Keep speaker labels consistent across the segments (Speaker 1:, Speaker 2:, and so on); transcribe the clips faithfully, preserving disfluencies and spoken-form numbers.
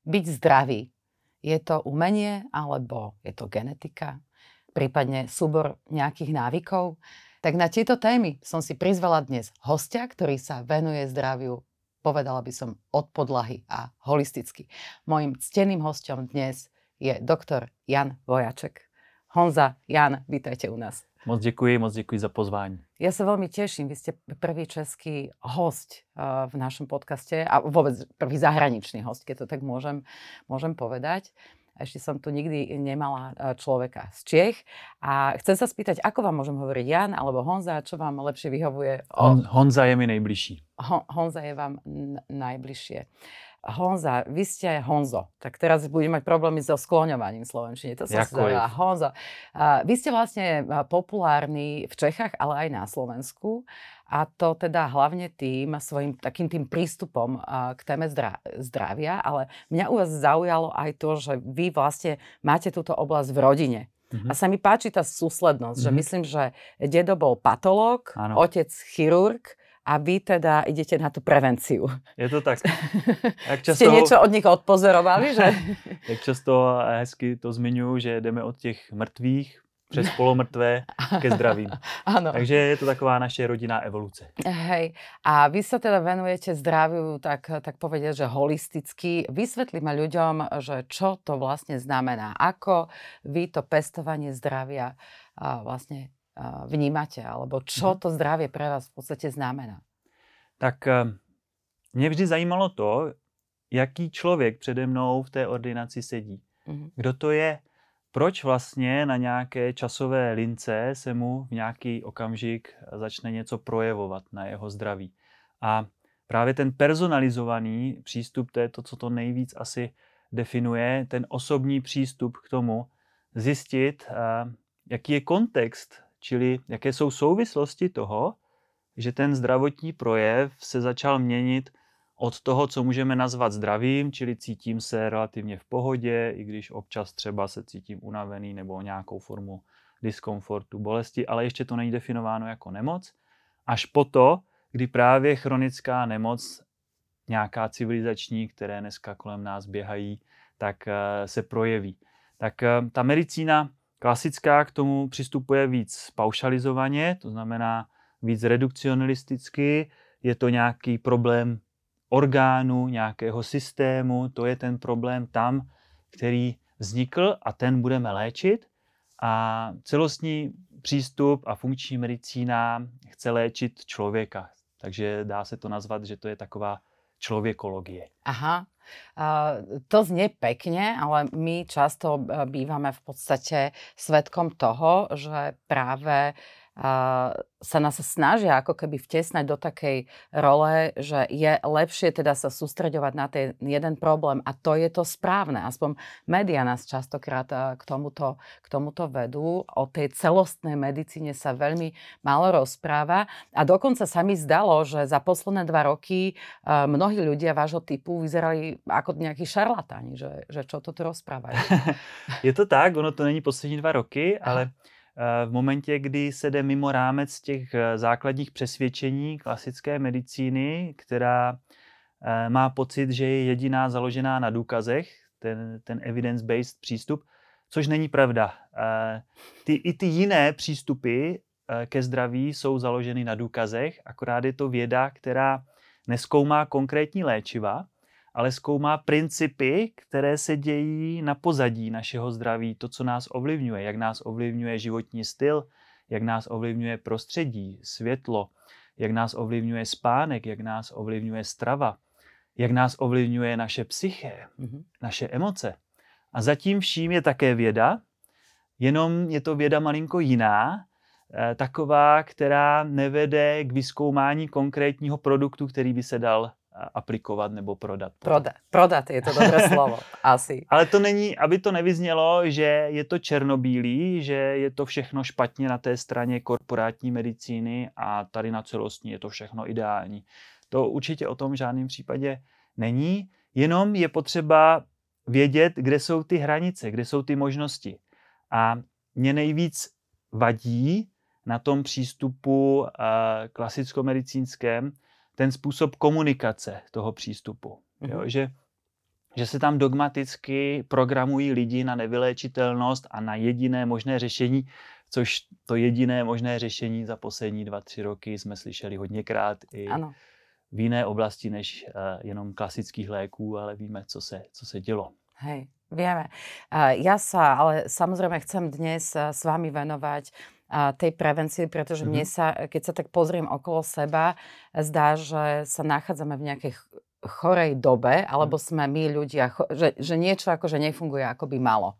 Speaker 1: byť zdravý, je to umenie alebo je to genetika, prípadne súbor nejakých návykov? Tak na tieto témy som si prizvala dnes hostia, ktorý sa venuje zdraviu, povedala by som, od podlahy a holisticky. Mojím cteným hosťom dnes je doktor Jan Vojaček. Honza, Jan, vítajte u nás.
Speaker 2: Moc děkuji, moc děkuji za pozvání.
Speaker 1: Ja sa veľmi teším, vy ste prvý český host v našom podcaste a vôbec prvý zahraničný host, keď to tak môžem, môžem povedať. Ešte som tu nikdy nemala človeka z Čiech a chcem sa spýtať, ako vám môžem hovoriť Jan alebo Honza, čo vám lepšie vyhovuje?
Speaker 2: Hon, Honza je mi nejbližší.
Speaker 1: Hon, Honza je vám n- najbližšie. Honza, vy ste Honzo, tak teraz budem mať problémy so skloňovaním v slovenčine. To som si zavedala. Honzo, uh, vy ste vlastne populárni v Čechách, ale aj na Slovensku. A to teda hlavne tým svojím takým tým prístupom uh, k téme zdra- zdravia. Ale mňa u vás zaujalo aj to, že vy vlastne máte túto oblasť v rodine. Mm-hmm. A sa mi páči tá súslednosť, mm-hmm. že myslím, že dedo bol patológ, ano. Otec chirurg, a vy teda idete na tú prevenciu.
Speaker 2: Je to tak. Jak často,
Speaker 1: Ste niečo od nich odpozorovali? Že?
Speaker 2: Jak často hezky to zmiňuji, že jdeme od těch mrtvých přes polomrtvé ke zdravým.
Speaker 1: Ano.
Speaker 2: Takže je to taková naše rodinná evoluce.
Speaker 1: Hej. A vy sa teda venujete zdraviu, tak, tak povedať, že holisticky. Vysvetlíme ľuďom, že čo to vlastne znamená. Ako vy to pestovanie zdravia a vlastne vnímate, alebo čo to zdravie pre vás v podstate znamená?
Speaker 2: Tak mě vždy zajímalo to, jaký člověk přede mnou v té ordinaci sedí. Mm-hmm. Kdo to je? Proč vlastně na nějaké časové lince se mu v nějaký okamžik začne něco projevovat na jeho zdraví? A právě ten personalizovaný přístup, to je to, co to nejvíc asi definuje, ten osobní přístup k tomu, zjistit, jaký je kontext, čili jaké jsou souvislosti toho, že ten zdravotní projev se začal měnit od toho, co můžeme nazvat zdravím, čili cítím se relativně v pohodě, i když občas třeba se cítím unavený nebo nějakou formu diskomfortu, bolesti, ale ještě to není definováno jako nemoc, až po to, kdy právě chronická nemoc, nějaká civilizační, které dneska kolem nás běhají, tak se projeví. Tak ta medicína klasická k tomu přistupuje víc paušalizovaně, to znamená víc redukcionalisticky, je to nějaký problém orgánu, nějakého systému, to je ten problém tam, který vznikl a ten budeme léčit. A celostní přístup a funkční medicína chce léčit člověka, takže dá se to nazvat, že to je taková člověkologie.
Speaker 1: Aha. Uh, to znie pekne, ale my často bývame v podstate svedkom toho, že práve uh, sa nás snažia ako keby vtesnať do takej role, že je lepšie teda sa sústreďovať na ten jeden problém a to je to správne. Aspoň médiá nás častokrát uh, k tomuto, k tomuto vedú. O tej celostnej medicíne sa veľmi málo rozpráva a dokonca sa mi zdalo, že za posledné dva roky uh, mnohí ľudia vášho typu vyzerali ako nejakí šarlatáni, že, že čo to tu rozprávajú.
Speaker 2: Je to tak, ono to není poslední dva roky, ale v momentě, kdy se jde mimo rámec těch základních přesvědčení klasické medicíny, která má pocit, že je jediná založená na důkazech, ten, ten evidence-based přístup, což není pravda. Ty, i ty jiné přístupy ke zdraví jsou založeny na důkazech, akorát je to věda, která nezkoumá konkrétní léčiva, ale zkoumá principy, které se dějí na pozadí našeho zdraví, to, co nás ovlivňuje, jak nás ovlivňuje životní styl, jak nás ovlivňuje prostředí, světlo, jak nás ovlivňuje spánek, jak nás ovlivňuje strava, jak nás ovlivňuje naše psyché, mm-hmm. naše emoce. A zatím vším je také věda, jenom je to věda malinko jiná, taková, která nevede k vyzkoumání konkrétního produktu, který by se dal aplikovat nebo prodat.
Speaker 1: Prodat, prodat je to dobré slovo, asi.
Speaker 2: Ale to není, aby to nevyznělo, že je to černobílý, že je to všechno špatně na té straně korporátní medicíny a tady na celostní je to všechno ideální. To určitě o tom v žádném případě není, jenom je potřeba vědět, kde jsou ty hranice, kde jsou ty možnosti. A mě nejvíc vadí na tom přístupu uh, klasicko-medicínském ten způsob komunikace toho přístupu. Mm-hmm. Jo, že že se tam dogmaticky programují lidi na nevyléčitelnost a na jediné možné řešení, což to jediné možné řešení za poslední dva, tři roky jsme slyšeli hodněkrát i ano. v jiné oblasti než uh, jenom klasických léků, ale víme, co se, co se dělo.
Speaker 1: Hej, vieme. Ja sa ale samozrejme chcem dnes s vami venovať tej prevencii, pretože mm-hmm. mne sa, keď sa tak pozriem okolo seba, zdá, že sa nachádzame v nejakej chorej dobe, alebo sme my ľudia, že, že niečo akože nefunguje, ako by malo.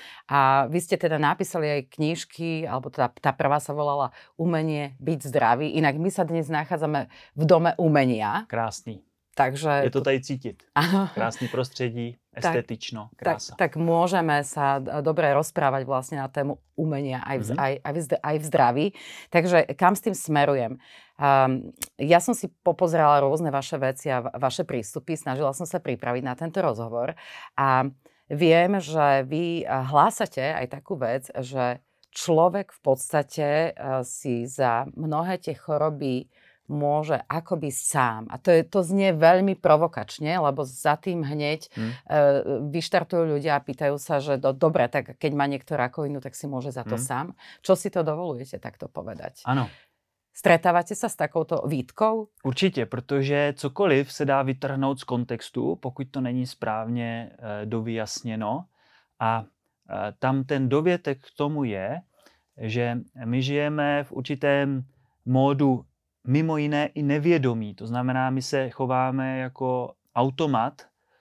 Speaker 1: A vy ste teda napísali aj knižky, alebo teda tá prvá sa volala Umenie byť zdravý. Inak my sa dnes nachádzame v dome umenia.
Speaker 2: Krásný.
Speaker 1: Takže
Speaker 2: je to tady cítiť. Krásny prostredí, estetično, krása.
Speaker 1: Tak, tak môžeme sa dobre rozprávať vlastne na tému umenia aj v, mm-hmm. aj, aj, v, aj v zdraví. Takže kam s tým smerujem? Um, ja som si popozerala rôzne vaše veci a vaše prístupy. Snažila som sa pripraviť na tento rozhovor. A viem, že vy hlásate aj takú vec, že človek v podstate si za mnohé tie choroby môže akoby sám. A to, je, to znie veľmi provokačne, lebo za tým hneď hmm. e, vyštartujú ľudia a pýtajú sa, že do, dobre, tak keď má niekto rakovinu, tak si môže za to hmm. sám. Čo si to dovolujete takto povedať?
Speaker 2: Ano.
Speaker 1: Stretávate sa s takouto výtkou?
Speaker 2: Určitě, protože cokoliv se dá vytrhnout z kontextu, pokud to není správně e, dovyjasněno. A e, tam ten dovětek k tomu je, že my žijeme v určitém módu mimo jiné i nevědomí. To znamená, my se chováme jako automat,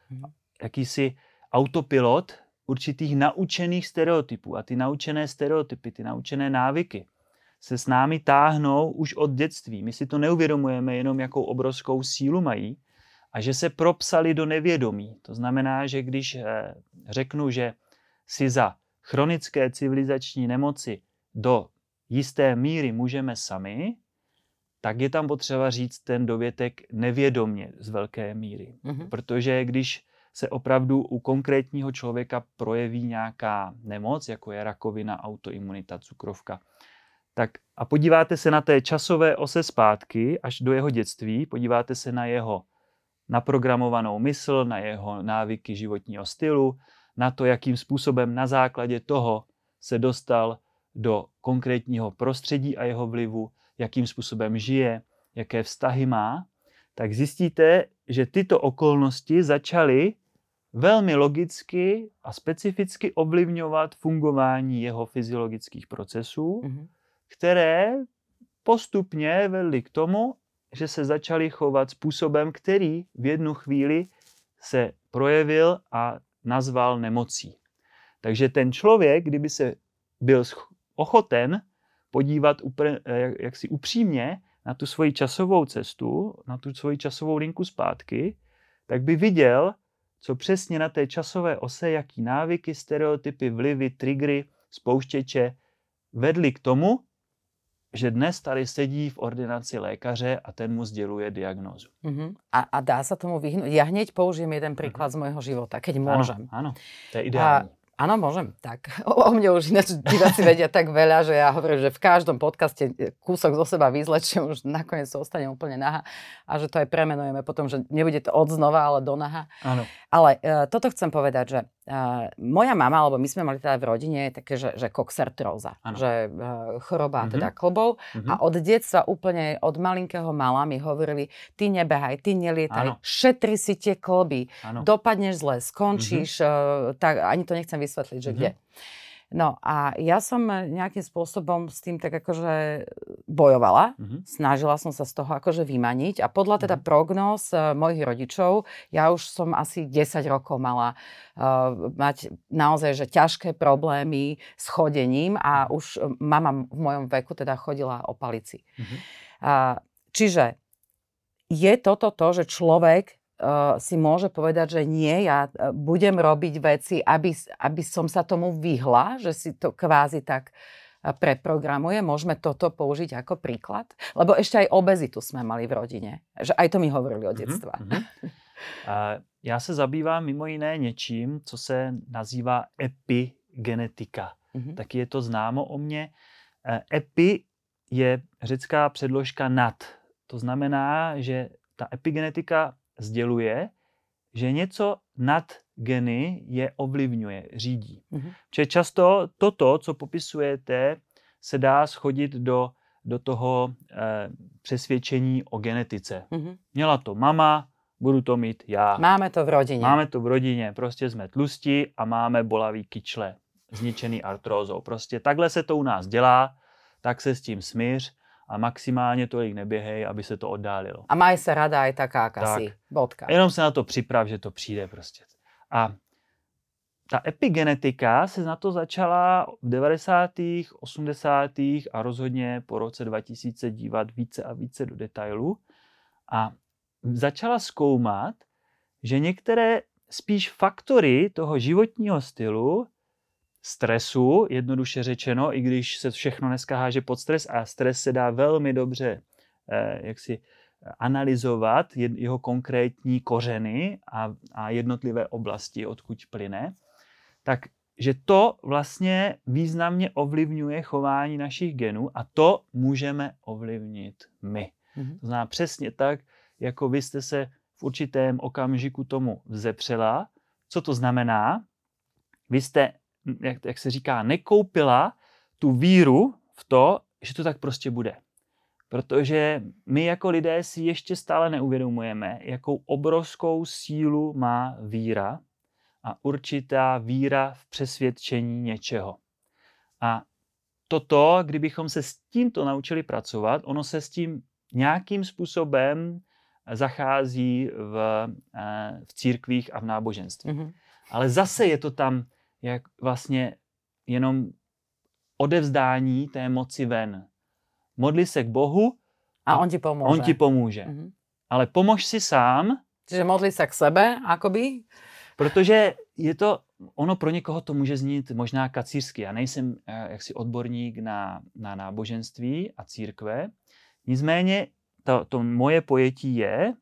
Speaker 2: jakýsi autopilot určitých naučených stereotypů. A ty naučené stereotypy, ty naučené návyky se s námi táhnou už od dětství. My si to neuvědomujeme jenom, jakou obrovskou sílu mají a že se propsali do nevědomí. To znamená, že když řeknu, že si za chronické civilizační nemoci do jisté míry můžeme sami, tak je tam potřeba říct ten dovětek nevědomně z velké míry. Mm-hmm. Protože když se opravdu u konkrétního člověka projeví nějaká nemoc, jako je rakovina, autoimunita, cukrovka, tak a podíváte se na té časové ose zpátky až do jeho dětství, podíváte se na jeho naprogramovanou mysl, na jeho návyky životního stylu, na to, jakým způsobem na základě toho se dostal do konkrétního prostředí a jeho vlivu, jakým způsobem žije, jaké vztahy má, tak zjistíte, že tyto okolnosti začaly velmi logicky a specificky ovlivňovat fungování jeho fyziologických procesů, mm-hmm. které postupně vedly k tomu, že se začaly chovat způsobem, který v jednu chvíli se projevil a nazval nemocí. Takže ten člověk, kdyby se byl ochoten podívat upr- jaksi upřímně na tu svoji časovou cestu, na tu svoji časovou linku zpátky, tak by viděl, co přesně na té časové ose, jaký návyky, stereotypy, vlivy, triggery, spouštěče vedly k tomu, že dnes tady sedí v ordinaci lékaře a ten mu sděluje diagnózu.
Speaker 1: Uh-huh. A, a dá sa tomu vyhnúť? Ja hneď použijem jeden príklad uh-huh. z môjho života, keď môžem.
Speaker 2: Áno, áno, to je ideálne. A
Speaker 1: áno, môžem. Tak. O, o mne už ináč diváci vedia tak veľa, že ja hovorím, že v každom podcaste kúsok zo seba vyzlečím, už nakoniec sa ostane úplne nahá a že to aj premenujeme potom, že nebude to od znova, ale do nahá.
Speaker 2: Áno.
Speaker 1: Ale uh, toto chcem povedať, že uh, moja mama, alebo my sme mali teda v rodine také, že, že koxartróza, že uh, choroba mm-hmm. teda klbov mm-hmm. a od detstva úplne od malinkého mala mi hovorili, ty nebehaj, ty nelietaj, áno. šetri si tie klby, áno. dopadneš zle, skončíš, mm-hmm. uh, tak ani to nechcem vysvetliť, že mm-hmm. kde. No a ja som nejakým spôsobom s tým tak akože bojovala. Mm-hmm. Snažila som sa z toho akože vymaniť a podľa teda mm-hmm. prognóz uh, mojich rodičov, ja už som asi desať rokov mala uh, mať naozaj že ťažké problémy s chodením a už mama v mojom veku teda chodila o palici. Mm-hmm. Uh, čiže je toto to, že človek Uh, si môže povedať, že nie, ja budem robiť veci, aby, aby som sa tomu vyhla, že si to kvázi tak preprogramuje. Môžeme toto použiť ako príklad? Lebo ešte aj obezitu sme mali v rodine. Že aj to mi hovorili od detstva. Mm-hmm.
Speaker 2: uh, já se zabývám mimo jiné něčím, co se nazývá epigenetika. Mm-hmm. Taky je to známo o mně. Uh, epi je řecká předložka nad. To znamená, že ta epigenetika sděluje, že něco nad geny je ovlivňuje, řídí.
Speaker 1: Mm-hmm.
Speaker 2: Čiže často toto, co popisujete, se dá schodit do, do toho eh, přesvědčení o genetice.
Speaker 1: Mm-hmm.
Speaker 2: Měla to mama, budu to mít já.
Speaker 1: Máme to v rodině.
Speaker 2: Máme to v rodině, prostě jsme tlustí a máme bolavý kyčle, zničený artrózou. Prostě takhle se to u nás dělá, tak se s tím smíř a maximálně tolik neběhej, aby se to oddálilo.
Speaker 1: A maj se rada aj taká, aká
Speaker 2: Tak.
Speaker 1: si. Bodka.
Speaker 2: Jenom se na to připrav, že to přijde prostě. A ta epigenetika se na to začala v devadesátých, osmdesátých a rozhodně po roce dva tisíce dívat více a více do detailu a začala zkoumat, že některé spíš faktory toho životního stylu, stresu, jednoduše řečeno, i když se všechno dneska háže pod stres a stres se dá velmi dobře eh, jaksi analyzovat, jeho konkrétní kořeny a, a jednotlivé oblasti, odkud plyne, tak že to vlastně významně ovlivňuje chování našich genů a to můžeme ovlivnit my. Mm-hmm. To znamená přesně tak, jako vy jste se v určitém okamžiku tomu vzepřela. Co to znamená? Vy jste, jak, jak se říká, nekoupila tu víru v to, že to tak prostě bude. Protože my jako lidé si ještě stále neuvědomujeme, jakou obrovskou sílu má víra a určitá víra v přesvědčení něčeho. A toto, kdybychom se s tímto naučili pracovat, ono se s tím nějakým způsobem zachází v, v církvích a v náboženství. Mm-hmm. Ale zase je to tam jak vlastně jenom odevzdání té moci ven. Modli se k Bohu
Speaker 1: a, a on ti pomůže.
Speaker 2: On ti pomůže. Mm-hmm. Ale pomož si sám.
Speaker 1: Čiže modli se k sebe, akoby?
Speaker 2: Protože je to, ono pro někoho to může znít možná kacířsky. Já nejsem jaksi odborník na, na náboženství a církve. Nicméně to, to moje pojetí je,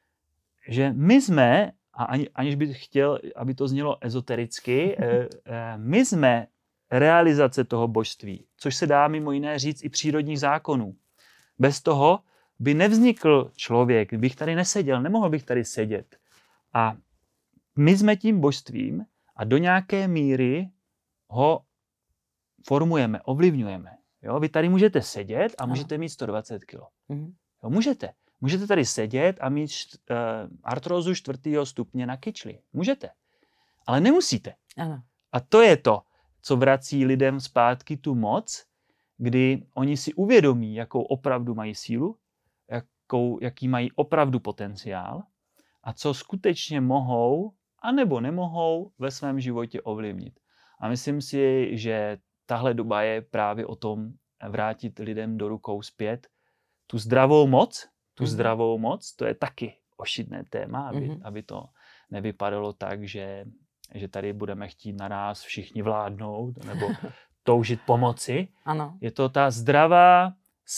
Speaker 2: že my jsme, a ani, aniž bych chtěl, aby to znělo ezotericky, my jsme realizace toho božství, což se dá mimo jiné říct i přírodních zákonů. Bez toho by nevznikl člověk, bych tady neseděl, nemohl bych tady sedět. A my jsme tím božstvím a do nějaké míry ho formujeme, ovlivňujeme. Jo? Vy tady můžete sedět a můžete mít sto dvacet kilo. Mm-hmm. Jo, můžete. Můžete tady sedět a mít št, uh, artrózu čtvrtého stupně na kyčli. Můžete. Ale nemusíte.
Speaker 1: Ano.
Speaker 2: A to je to, co vrací lidem zpátky tu moc, kdy oni si uvědomí, jakou opravdu mají sílu, jakou, jaký mají opravdu potenciál a co skutečně mohou anebo nemohou ve svém životě ovlivnit. A myslím si, že tahle doba je právě o tom vrátit lidem do rukou zpět tu zdravou moc, tu mm-hmm. zdravou moc, to je taky ošidné téma, aby, mm-hmm. aby to nevypadalo tak, že, že tady budeme chtít naráz všichni vládnout nebo toužit pomoci.
Speaker 1: Ano.
Speaker 2: Je to ta zdravá,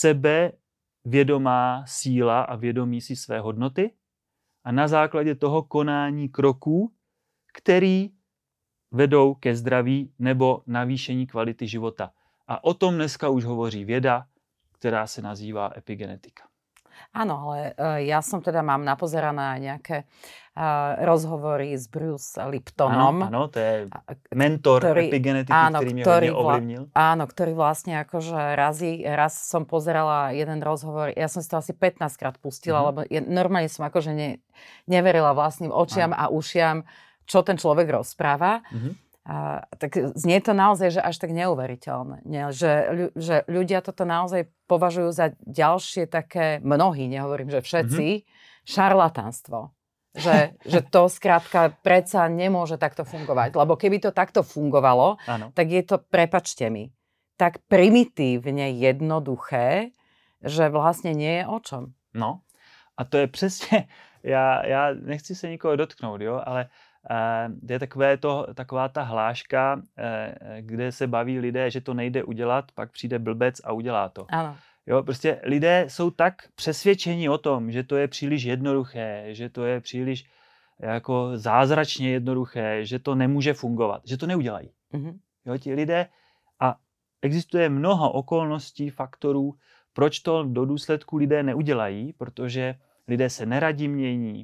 Speaker 2: sebevědomá síla a vědomí si své hodnoty a na základě toho konání kroků, který vedou ke zdraví nebo navýšení kvality života. A o tom dneska už hovoří věda, která se nazývá epigenetika.
Speaker 1: Áno, ale ja som teda mám napozerané nejaké uh, rozhovory s Bruce Liptonom.
Speaker 2: Áno, to je mentor ktorý, epigenetiky, áno, ktorý mňa hodne ovlivnil.
Speaker 1: Áno, ktorý vlastne akože razy, raz som pozerala jeden rozhovor, ja som si to asi pätnásťkrát pustila, mm-hmm. lebo ja, normálne som akože ne, neverila vlastným očiam áno. a ušiam, čo ten človek rozpráva. Mm-hmm. A, tak znie to naozaj, že až tak neuveriteľné. Nie? Že, že ľudia toto naozaj považujú za ďalšie také, mnohí, nehovorím, že všetci, mm-hmm. šarlatánstvo. Že, že to skrátka predsa nemôže takto fungovať. Lebo keby to takto fungovalo, ano. tak je to, prepačte mi, tak primitívne jednoduché, že vlastne nie je o čom.
Speaker 2: No, a to je přesně, já, já nechci se nikoho dotknout, jo, ale Uh, je takové to, taková ta hláška, uh, kde se baví lidé, že to nejde udělat, pak přijde blbec a udělá to.
Speaker 1: Ano.
Speaker 2: Jo, prostě lidé jsou tak přesvědčeni o tom, že to je příliš jednoduché, že to je příliš jako zázračně jednoduché, že to nemůže fungovat, že to neudělají. Mm-hmm. Jo, ti lidé, a existuje mnoho okolností, faktorů, proč to do důsledku lidé neudělají, protože lidé se neradí mění,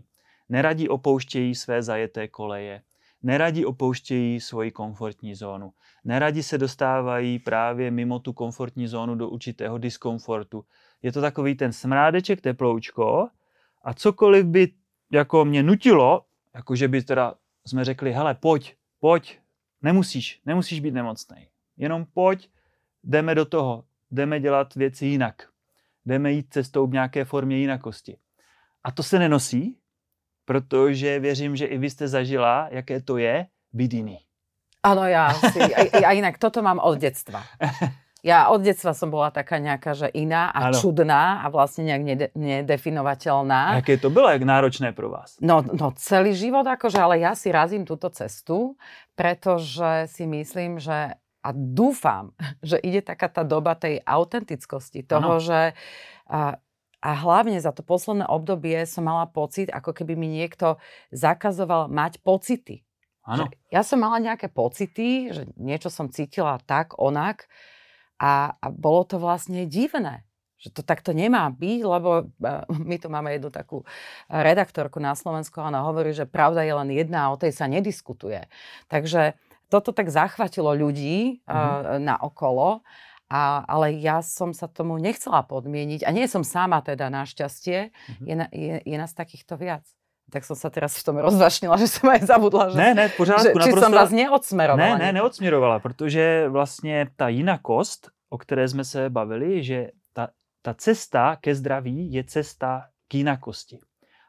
Speaker 2: neradi opouštějí své zajeté koleje, neradi opouštějí svoji komfortní zónu, neradi se dostávají právě mimo tu komfortní zónu do určitého diskomfortu. Je to takový ten smrádeček, teploučko a cokoliv by jako mě nutilo, jakože by teda jsme řekli, hele, pojď, pojď, nemusíš, nemusíš být nemocnej. Jenom pojď, jdeme do toho, jdeme dělat věci jinak. Jdeme jít cestou v nějaké formě jinakosti. A to se nenosí, protože věřím, že i vy jste zažila, jaké to je být jiný.
Speaker 1: Áno, ja si, a, a inak toto mám od detstva. Ja od detstva som bola taká nejaká, že iná a ano. čudná a vlastne nejak nede, nedefinovateľná.
Speaker 2: A jaké to bylo, jak náročné pro vás?
Speaker 1: No, no celý život akože, ale ja si razím túto cestu, pretože si myslím, že a dúfam, že ide taká tá doba tej autentickosti, toho, ano. že a, a hlavne za to posledné obdobie som mala pocit, ako keby mi niekto zakazoval mať pocity.
Speaker 2: Áno.
Speaker 1: Ja som mala nejaké pocity, že niečo som cítila tak, onak a, a bolo to vlastne divné. Že to takto nemá byť, lebo my tu máme jednu takú redaktorku na Slovensku a ona hovorí, že pravda je len jedna a o tej sa nediskutuje. Takže toto tak zachvatilo ľudí mm-hmm. uh, na okolo, a, ale ja som sa tomu nechcela podmieniť a nie som sama teda našťastie, mm-hmm. je, je, je nás takýchto viac. Tak som sa teraz v tom rozvašnila, že som aj zabudla, že,
Speaker 2: ne, ne, v pořádku,
Speaker 1: že či
Speaker 2: naprosto,
Speaker 1: som vás neodsmerovala.
Speaker 2: Ne, ne, neodsměrovala, protože vlastně ta jinakost, o které jsme se bavili, že ta, ta cesta ke zdraví je cesta k jinakosti.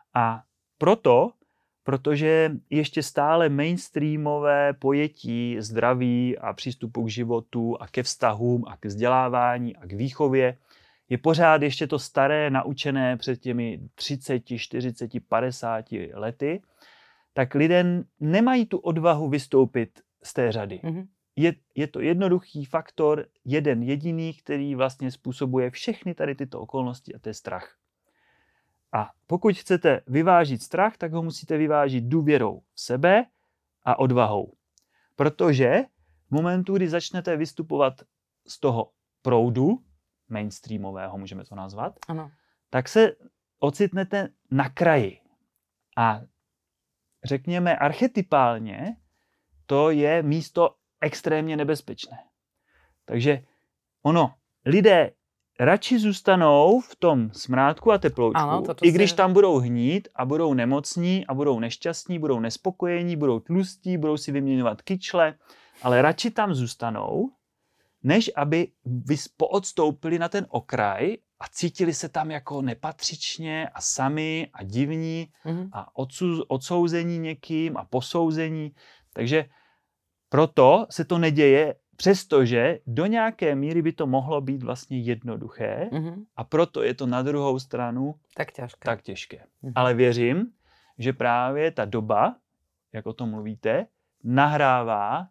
Speaker 2: A proto, protože ještě stále mainstreamové pojetí zdraví a přístupu k životu a ke vztahům a k vzdělávání a k výchově je pořád ještě to staré, naučené před těmi třicet, čtyřicet, padesát lety, tak lidé nemají tu odvahu vystoupit z té řady. Mm-hmm. Je, je to jednoduchý faktor, jeden jediný, který vlastně způsobuje všechny tady tyto okolnosti a to je strach. A pokud chcete vyvážit strach, tak ho musíte vyvážit důvěrou v sebe a odvahou. Protože v momentu, kdy začnete vystupovat z toho proudu, mainstreamového, můžeme to nazvat,
Speaker 1: ano.
Speaker 2: tak se ocitnete na kraji. A řekněme archetypálně, to je místo extrémně nebezpečné. Takže ono, lidé radši zůstanou v tom smrádku a teploučku, ano, i když tam budou hnít a budou nemocní a budou nešťastní, budou nespokojení, budou tlustí, budou si vyměňovat kyčle, ale radši tam zůstanou, než aby vy poodstoupili na ten okraj a cítili se tam jako nepatřičně a sami a divní mm-hmm. a odsou, odsouzení někým a posouzení. Takže proto se to neděje, přestože do nějaké míry by to mohlo být vlastně jednoduché mm-hmm. a proto je to na druhou stranu
Speaker 1: tak těžké.
Speaker 2: Tak těžké. Mm-hmm. Ale věřím, že právě ta doba, jak o tom mluvíte, nahrává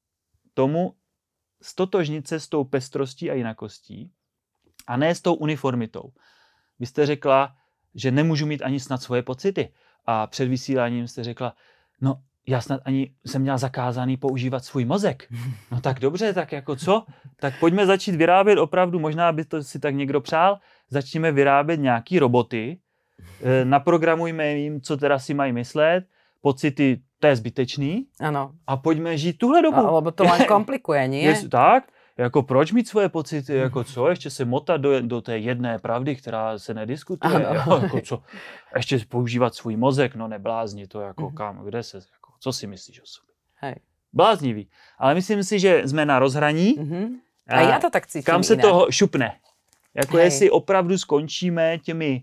Speaker 2: tomu stotožnit se s tou pestrostí a jinakostí a ne s tou uniformitou. Vy jste řekla, že nemůžu mít ani snad svoje pocity a před vysíláním jste řekla, no já snad ani jsem měla zakázaný používat svůj mozek. No tak dobře, tak jako co? Tak pojďme začít vyrábět opravdu, možná by to si tak někdo přál, začněme vyrábět nějaký roboty, naprogramujme jim, co teda si mají myslet, pocity, to je zbytečný.
Speaker 1: Ano.
Speaker 2: A pojďme žít tuhle dobu.
Speaker 1: No, lebo to len komplikuje, nie?
Speaker 2: Je, tak, jako proč mít svoje pocity, jako co, ještě se motat do, do té jedné pravdy, která se nediskutuje, jo, jako co, ještě používat svůj mozek, no neblázni to, jako mm-hmm. kam, kde se, jako, co si myslíš o sobě.
Speaker 1: Hej.
Speaker 2: Bláznivý. Ale myslím si, že jsme na rozhraní.
Speaker 1: Mm-hmm. A, a já to tak cítím
Speaker 2: kam se
Speaker 1: jinak.
Speaker 2: toho šupne. Jako
Speaker 1: Hej.
Speaker 2: jestli opravdu skončíme těmi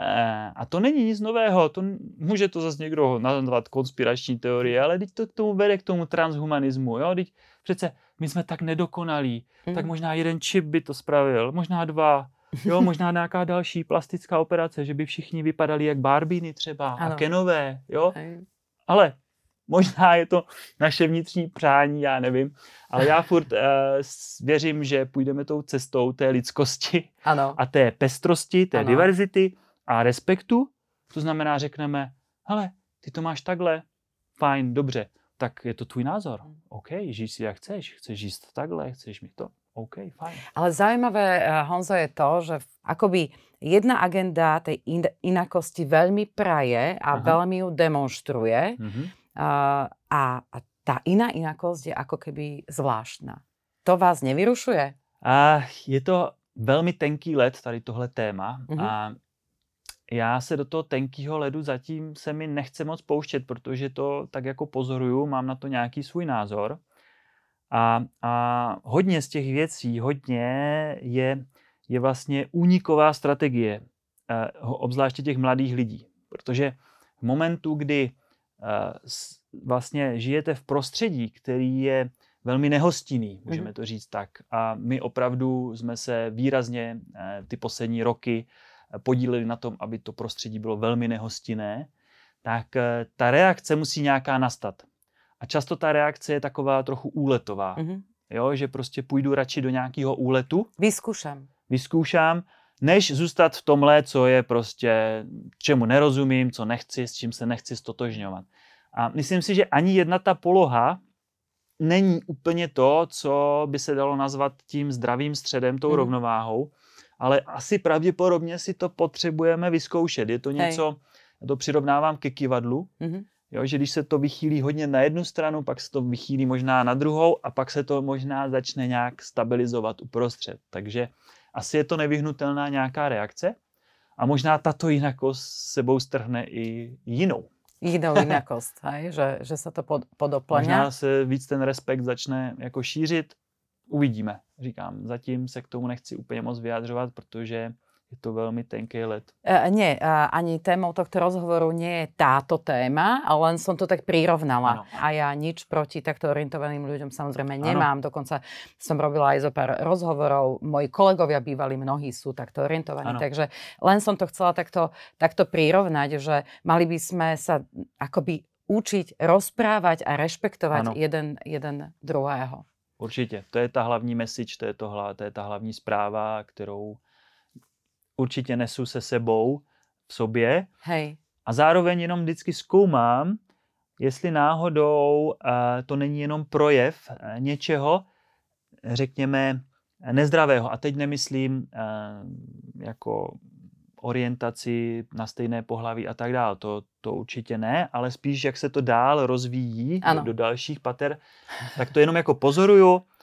Speaker 2: a to není nic nového, to může to zase někdo nazvat konspirační teorie, ale teď to k tomu vede k tomu transhumanismu, jo, teď přece my jsme tak nedokonalí, mm. tak možná jeden čip by to spravil, možná dva, jo, možná nějaká další plastická operace, že by všichni vypadali jak Barbíny třeba ano. a Kenové, jo, Hej. ale možná je to naše vnitřní přání, já nevím, ale já furt uh, věřím, že půjdeme tou cestou té lidskosti
Speaker 1: ano.
Speaker 2: a té pestrosti, té
Speaker 1: ano.
Speaker 2: diverzity a respektu. To znamená, řekneme, hele, ty to máš takhle, fajn, dobře, tak je to tvůj názor. OK, žij si jak chceš, chceš jíst takhle, chceš mi to, OK, fajn.
Speaker 1: Ale zaujímavé, Honzo, je to, že akoby jedna agenda tej in- inakosti veľmi praje a Aha. veľmi ju demonstruje mm-hmm. uh, a, a tá iná inakosť je ako keby zvláštna. To vás nevyrušuje?
Speaker 2: A je to velmi tenký led, tady tohle téma. Mm-hmm. A já se do toho tenkýho ledu zatím se mi nechce moc pouštět, protože to tak jako pozoruju, mám na to nějaký svůj názor. A, a hodně z těch věcí, hodně je, je vlastně úniková strategie, eh, obzvláště těch mladých lidí. Protože v momentu, kdy eh, vlastně žijete v prostředí, který je velmi nehostinný, můžeme to říct tak. A my opravdu jsme se výrazně eh, ty poslední roky podíleli na tom, aby to prostředí bylo velmi nehostinné, tak eh, ta reakce musí nějaká nastat. A často ta reakce je taková trochu úletová. Mm-hmm. Jo, že prostě půjdu radši do nějakého úletu.
Speaker 1: Vyzkoušám.
Speaker 2: Vyzkoušám, než zůstat v tomhle, co je prostě, čemu nerozumím, co nechci, s čím se nechci stotožňovat. A myslím si, že ani jedna ta poloha není úplně to, co by se dalo nazvat tím zdravým středem, tou mm. rovnováhou, ale asi pravděpodobně si to potřebujeme vyzkoušet. Je to něco, Hej. já to přirovnávám ke kyvadlu, mm-hmm. jo, že když se to vychýlí hodně na jednu stranu, pak se to vychýlí možná na druhou a pak se to možná začne nějak stabilizovat uprostřed. Takže asi je to nevyhnutelná nějaká reakce a možná tato jinakost sebou strhne i jinou.
Speaker 1: Jinou jinakost, hej? Že, že se to pod, podoplňá.
Speaker 2: Možná se víc ten respekt začne jako šířit. Uvidíme, říkám. Zatím se k tomu nechci úplně moc vyjadřovat, protože je to veľmi tenký led.
Speaker 1: Uh, nie, uh, ani témou tohto rozhovoru nie je táto téma, ale len som to tak prirovnala. Ano. A ja nič proti takto orientovaným ľuďom samozrejme nemám. Ano. Dokonca som robila aj zo pár rozhovorov. Moji kolegovia bývali, mnohí sú takto orientovaní. Ano. Takže len som to chcela takto, takto prirovnať, že mali by sme sa akoby učiť rozprávať a rešpektovať jeden, jeden druhého.
Speaker 2: Určitě. To je ta hlavní message, to je, to, to je ta hlavní zpráva, kterou určitě nesu se sebou v sobě.
Speaker 1: Hej.
Speaker 2: A zároveň jenom vždycky zkoumám, jestli náhodou uh, to není jenom projev uh, něčeho, řekněme, nezdravého. A teď nemyslím uh, jako orientaci na stejné pohlaví a tak dále. To, to určitě ne, ale spíš, jak se to dál rozvíjí do, do dalších pater, tak to jenom jako pozoruju. Uh,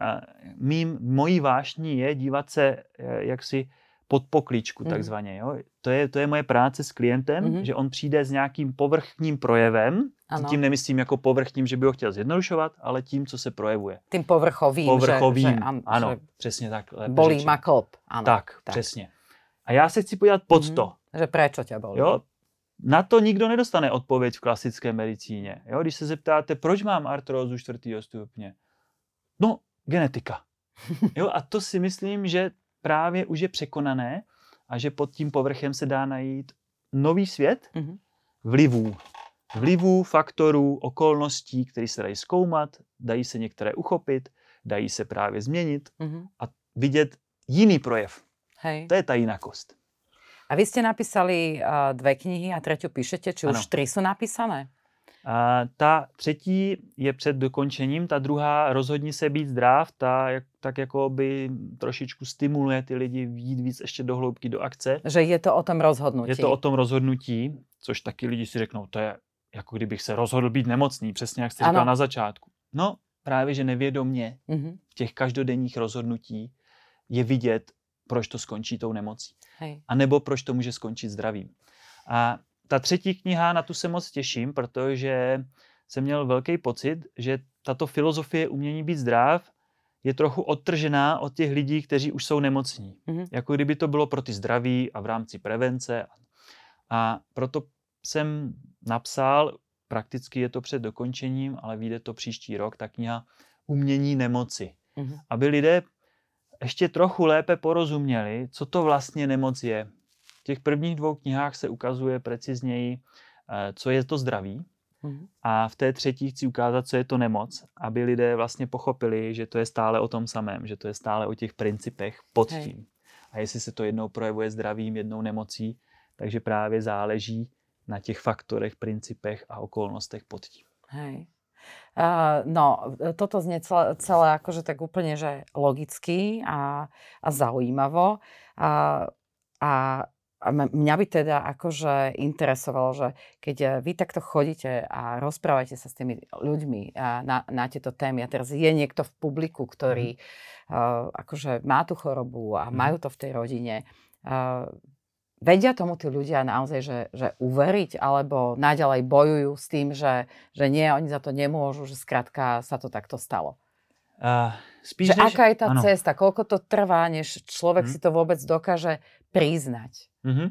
Speaker 2: mým, mojí vášní je dívat se, uh, jak si pod pokličku, takzvaně. Jo? To, je, to je moje práce s klientem, mm-hmm. že on přijde s nějakým povrchním projevem, ano. Tím nemyslím jako povrchním, že by ho chtěl zjednodušovat, ale tím, co se projevuje.
Speaker 1: Tím povrchovým.
Speaker 2: Povrchovým,
Speaker 1: že,
Speaker 2: že, an,
Speaker 1: ano,
Speaker 2: že přesně tak.
Speaker 1: Bolí ma klop. Ano,
Speaker 2: tak, tak, přesně. A já se chci podívat pod mm-hmm. to.
Speaker 1: Že prečo tě bolí.
Speaker 2: Jo? Na to nikdo nedostane odpověď v klasické medicíně. Jo? Když se zeptáte, proč mám artrózu čtvrtého stupně? No, genetika. Jo? A to si myslím, že právě už je překonané a že pod tím povrchem se dá najít nový svět mm-hmm. vlivů. Vlivů, faktorů, okolností, které se dají zkoumat, dají se některé uchopit, dají se právě změnit mm-hmm. a vidět jiný projev.
Speaker 1: Hej.
Speaker 2: To je ta jinakost.
Speaker 1: A vy ste napísali uh, dve knihy a tretiu píšete, či ano. Už tri sú napísané?
Speaker 2: A ta třetí je před dokončením, ta druhá Rozhodni se být zdrav, ta jak, tak jako by trošičku stimuluje ty lidi jít víc ještě do hloubky do akce.
Speaker 1: Že je to o tom rozhodnutí.
Speaker 2: Je to o tom rozhodnutí, což taky lidi si řeknou, to je jako kdybych se rozhodl být nemocný, přesně jak jste říkal na začátku. No právě, že nevědomě mm-hmm. v těch každodenních rozhodnutí je vidět, proč to skončí tou nemocí. Hej. A nebo proč to může skončit zdravím. A ta třetí kniha, na tu se moc těším, protože jsem měl velký pocit, že tato filozofie umění být zdrav je trochu odtržená od těch lidí, kteří už jsou nemocní. Mm-hmm. Jako kdyby to bylo pro ty zdraví a v rámci prevence. A proto jsem napsal, prakticky je to před dokončením, ale vyjde to příští rok, ta kniha Umění nemoci. Mm-hmm. Aby lidé ještě trochu lépe porozuměli, co to vlastně nemoc je. V těch prvních dvou knihách se ukazuje precizněji, co je to zdraví. Mm. A v té třetí chci ukázat, co je to nemoc, aby lidé vlastně pochopili, že to je stále o tom samém, že to je stále o těch principech pod Hej. Tím. A jestli se to jednou projevuje zdravím, jednou nemocí, takže právě záleží na těch faktorech, principech a okolnostech pod tím.
Speaker 1: Hej. Uh, no, toto znie celé, celé akože tak úplne, že logicky a, a zaujímavo. A, a, a mňa by teda akože interesovalo, že keď vy takto chodíte a rozprávate sa s tými ľuďmi na, na tieto témy a teraz je niekto v publiku, ktorý mm. uh, akože má tú chorobu a mm. majú to v tej rodine, uh, vedia tomu tí ľudia naozaj, že, že uveriť, alebo naďalej bojujú s tým, že, že nie, oni za to nemôžu, že skrátka sa to takto stalo?
Speaker 2: Uh, spíš
Speaker 1: že než... Aká je tá
Speaker 2: ano.
Speaker 1: cesta? Koľko to trvá, než človek hmm. si to vôbec dokáže priznať?
Speaker 2: Mm-hmm.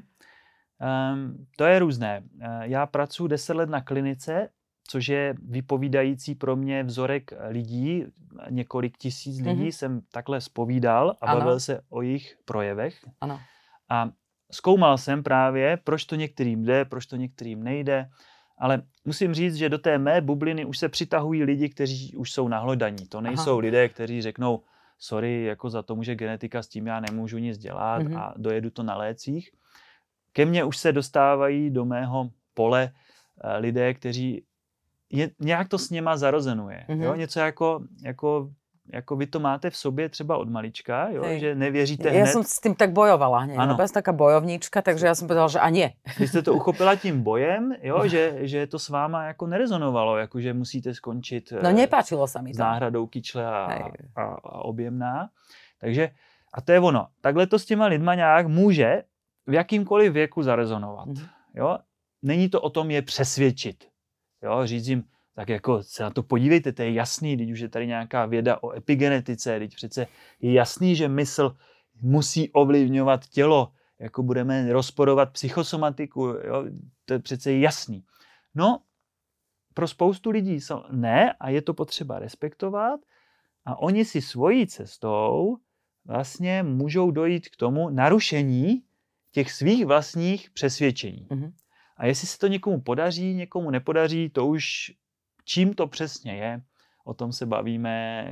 Speaker 2: Um, to je různé. Uh, já pracuji deset let na klinice, což je vypovídající pro mě vzorek lidí. Několik tisíc lidí mm-hmm. jsem takhle zpovídal a ano. bavil se o jejich projevech.
Speaker 1: Ano.
Speaker 2: A zkoumal jsem právě, proč to některým jde, proč to některým nejde, ale musím říct, že do té mé bubliny už se přitahují lidi, kteří už jsou nahlodaní. To nejsou Aha. lidé, kteří řeknou, sorry, jako za to může genetika, s tím já nemůžu nic dělat mm-hmm. a dojedu to na lécích. Ke mně už se dostávají do mého pole lidé, kteří je, nějak to s něma zarozenuje. Mm-hmm. Jo? Něco jako, jako jako vy to máte v sobě třeba od malička, jo? Že nevěříte hned.
Speaker 1: Ja som s tým tak bojovala, hneď. Ja som taká bojovníčka, takže ja som povedala, že a nie.
Speaker 2: Vy jste to uchopila tím bojem, jo? že, že to s váma jako nerezonovalo, jako že musíte skončit
Speaker 1: no, nepáčilo sa mi to.
Speaker 2: S náhradou kyčle a, a, a objemná. Takže, a to je ono. Takhle to s těma lidma nějak může v jakýmkoliv věku zarezonovat. Mm. Jo? Není to o tom je přesvědčit. Jo? Říct jim, tak jako se na to podívejte, to je jasný, když už je tady nějaká věda o epigenetice, teď přece je jasný, že mysl musí ovlivňovat tělo, jako budeme rozporovat psychosomatiku, jo? To je přece jasný. No, pro spoustu lidí ne a je to potřeba respektovat a oni si svojí cestou vlastně můžou dojít k tomu narušení těch svých vlastních přesvědčení. Mm-hmm. A jestli se to někomu podaří, někomu nepodaří, to už čím to přesně je, o tom se bavíme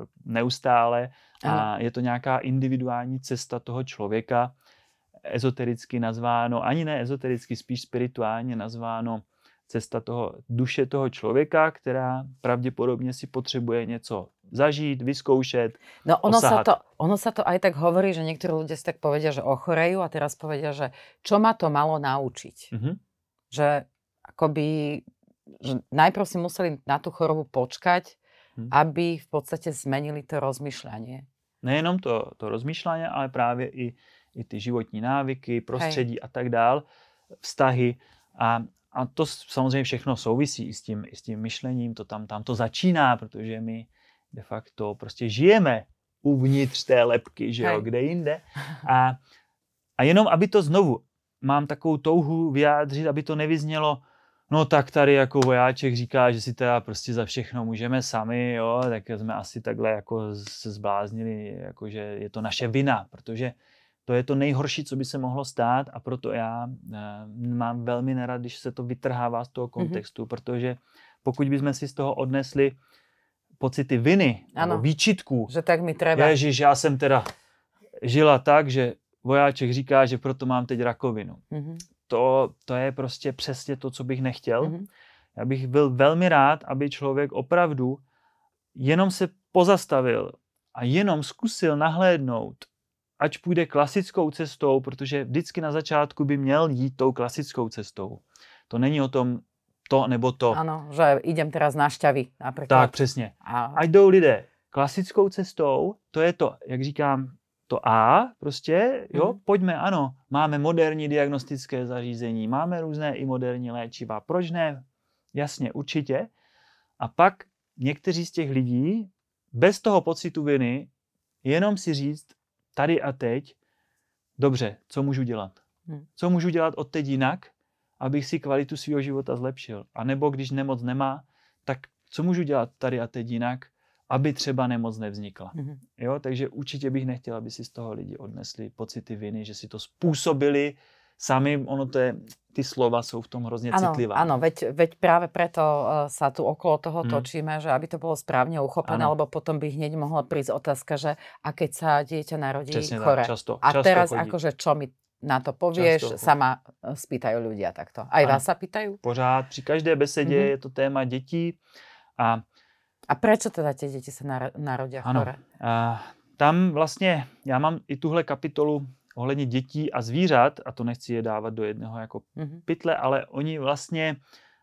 Speaker 2: neustále a je to nějaká individuální cesta toho člověka, ezotericky nazváno, ani ne ezotericky, spíš spirituálně nazváno cesta toho duše toho člověka, která pravděpodobně si potřebuje něco zažít, vyzkoušet,
Speaker 1: no ono sa, to, ono sa to aj tak hovorí, že niektorí ľudia si tak povedia, že ochorejú a teraz povedia, že čo ma to malo naučiť. Mm-hmm. Že akoby že najprv si museli na tú chorobu počkať, hmm. aby v podstate zmenili to rozmýšľanie.
Speaker 2: Nejenom to, to rozmýšľanie, ale právě i, i ty životní návyky, prostředí Hej. a tak dál, vztahy. A, a to samozřejmě všechno souvisí i s tím, i s tím myšlením, to tam, tam to začíná, protože my de facto prostě žijeme uvnitř té lebky, že jo, kde jinde. A, a jenom, aby to znovu, mám takovou touhu vyjádřit, aby to nevyznělo, no tak tady jako vojáček říká, že si teda prostě za všechno můžeme sami, jo, tak jsme asi takhle jako se zbláznili, jako že je to naše vina, protože to je to nejhorší, co by se mohlo stát a proto já e, mám velmi nerad, když se to vytrhává z toho kontextu, mm-hmm. protože pokud bychom si z toho odnesli pocity viny, ano, výčitků,
Speaker 1: že tak mi treba.
Speaker 2: Ježiš, já jsem teda žila tak, že vojáček říká, že proto mám teď rakovinu. Mm-hmm. To, to je prostě přesně to, co bych nechtěl. Mm-hmm. Já bych byl velmi rád, aby člověk opravdu jenom se pozastavil a jenom zkusil nahlédnout, ať půjde klasickou cestou, protože vždycky na začátku by měl jít tou klasickou cestou. To není o tom to nebo to.
Speaker 1: Ano, že idem teraz na šťavy například.
Speaker 2: Tak, přesně. A... Ať jdou lidé klasickou cestou, to je to, jak říkám, to A prostě, jo, mm. pojďme, ano, máme moderní diagnostické zařízení, máme různé i moderní léčiva, proč ne? Jasně, určitě. A pak někteří z těch lidí, bez toho pocitu viny, jenom si říct tady a teď, dobře, co můžu dělat? Mm. Co můžu dělat od teď jinak, abych si kvalitu svého života zlepšil? A nebo když nemoc nemá, tak co můžu dělat tady a teď jinak, aby třeba nemoc nevznikla. Mm-hmm. Jo, takže určitě bych nechtěl, aby si z toho lidi odnesli pocity viny, že si to způsobili sami, ono to je, ty slova jsou v tom hrozně
Speaker 1: ano,
Speaker 2: citlivá.
Speaker 1: Áno, veď, veď práve preto uh, sa tu okolo toho mm. točíme, že aby to bolo správne uchopené, ano. lebo potom by hneď mohla prísť otázka, že a keď sa dieťa narodí
Speaker 2: Přesne
Speaker 1: chore.
Speaker 2: Tak, často,
Speaker 1: a
Speaker 2: často
Speaker 1: teraz
Speaker 2: chodí.
Speaker 1: akože čo mi na to povieš, sa ma spýtajú ľudia takto. Aj ano. Vás sa pýtajú?
Speaker 2: Pořád, při každé besedě mm-hmm. je to téma dětí A,
Speaker 1: a prečo teda tie deti sa narodia chore?
Speaker 2: A tam vlastně, já mám i tuhle kapitolu ohledně dětí a zvířat, a to nechci je dávat do jednoho jako mm-hmm. pytle, ale oni vlastně,